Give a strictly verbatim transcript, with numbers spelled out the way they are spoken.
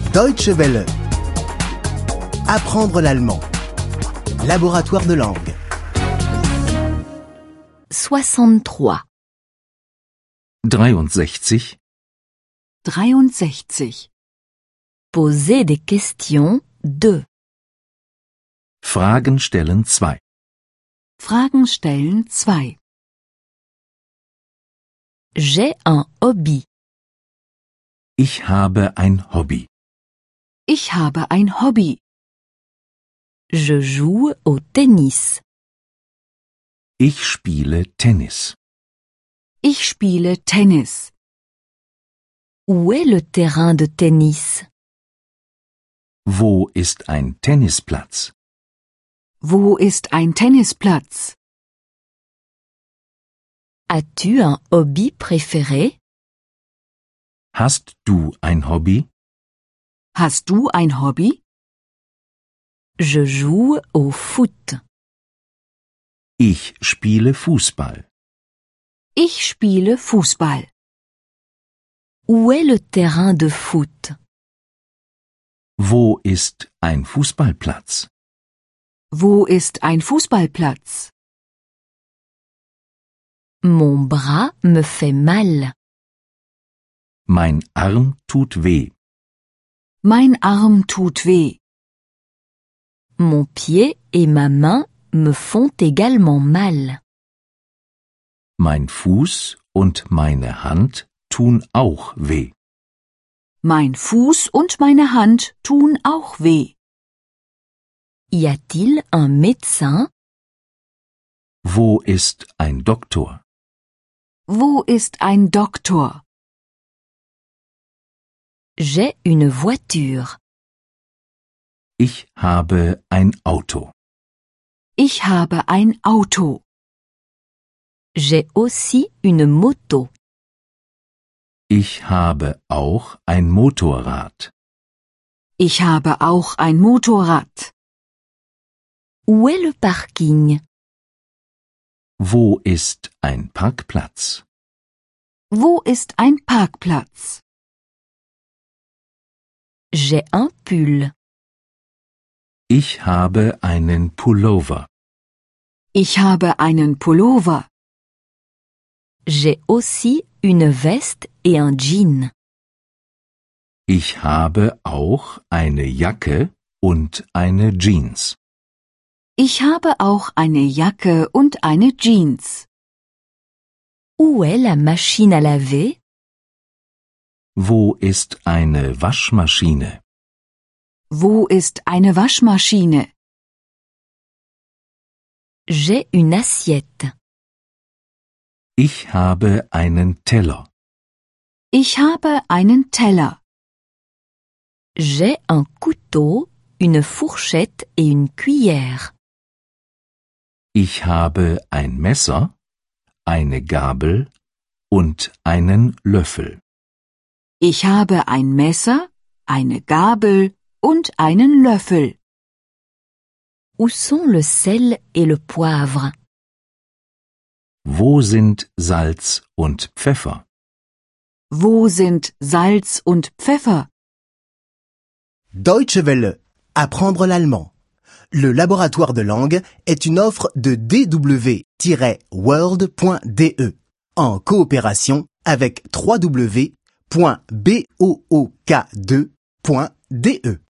Deutsche Welle. Apprendre l'allemand. Laboratoire de langue. soixante-trois. dreiundsechzig. dreiundsechzig. Poser des questions deux. Fragen stellen zwei. Fragen stellen zwei. J'ai un hobby. Ich habe ein Hobby. Ich habe ein Hobby. Je joue au tennis. Ich spiele Tennis. Ich spiele Tennis. Où est le terrain de tennis? Wo ist ein Tennisplatz? Wo ist ein Tennisplatz? As-tu un hobby préféré? Hast du ein Hobby? Hast du ein Hobby? Je joue au foot. Ich spiele Fußball. Ich spiele Fußball. Où est le terrain de foot? Wo ist ein Fußballplatz? Wo ist ein Fußballplatz? Mon bras me fait mal. Mein Arm tut weh. Mein Arm tut weh. Mon pied et ma main me font également mal. Mein Fuß und meine Hand tun auch weh. Mein Fuß und meine Hand tun auch weh. Y a-t-il un médecin? Wo ist ein Doktor? Wo ist ein Doktor? J'ai une voiture. Ich habe ein Auto. Ich habe ein Auto. J'ai aussi une moto. Ich habe auch ein Motorrad. Ich habe auch ein Motorrad. Où est le parking? Wo ist ein Parkplatz? Wo ist ein Parkplatz? J'ai un pull. Ich habe einen Pullover. Ich habe einen Pullover. J'ai aussi une veste et un jean. Ich habe auch eine Jacke und eine Jeans. Ich habe auch eine Jacke und eine Jeans. Où est la machine à laver? Wo ist eine Waschmaschine? Wo ist eine Waschmaschine? J'ai une assiette. Ich habe einen Teller. Ich habe einen Teller. J'ai un couteau, une fourchette et une cuillère. Ich habe ein Messer, eine Gabel und einen Löffel. Ich habe ein Messer, eine Gabel und einen Löffel. Où sont le sel et le poivre? Wo sind Salz und Pfeffer? Wo sind Salz und Pfeffer? Deutsche Welle. Apprendre l'allemand. Le laboratoire de langue est une offre de d w tiret world point d e en coopération avec w w w point book deux point d e.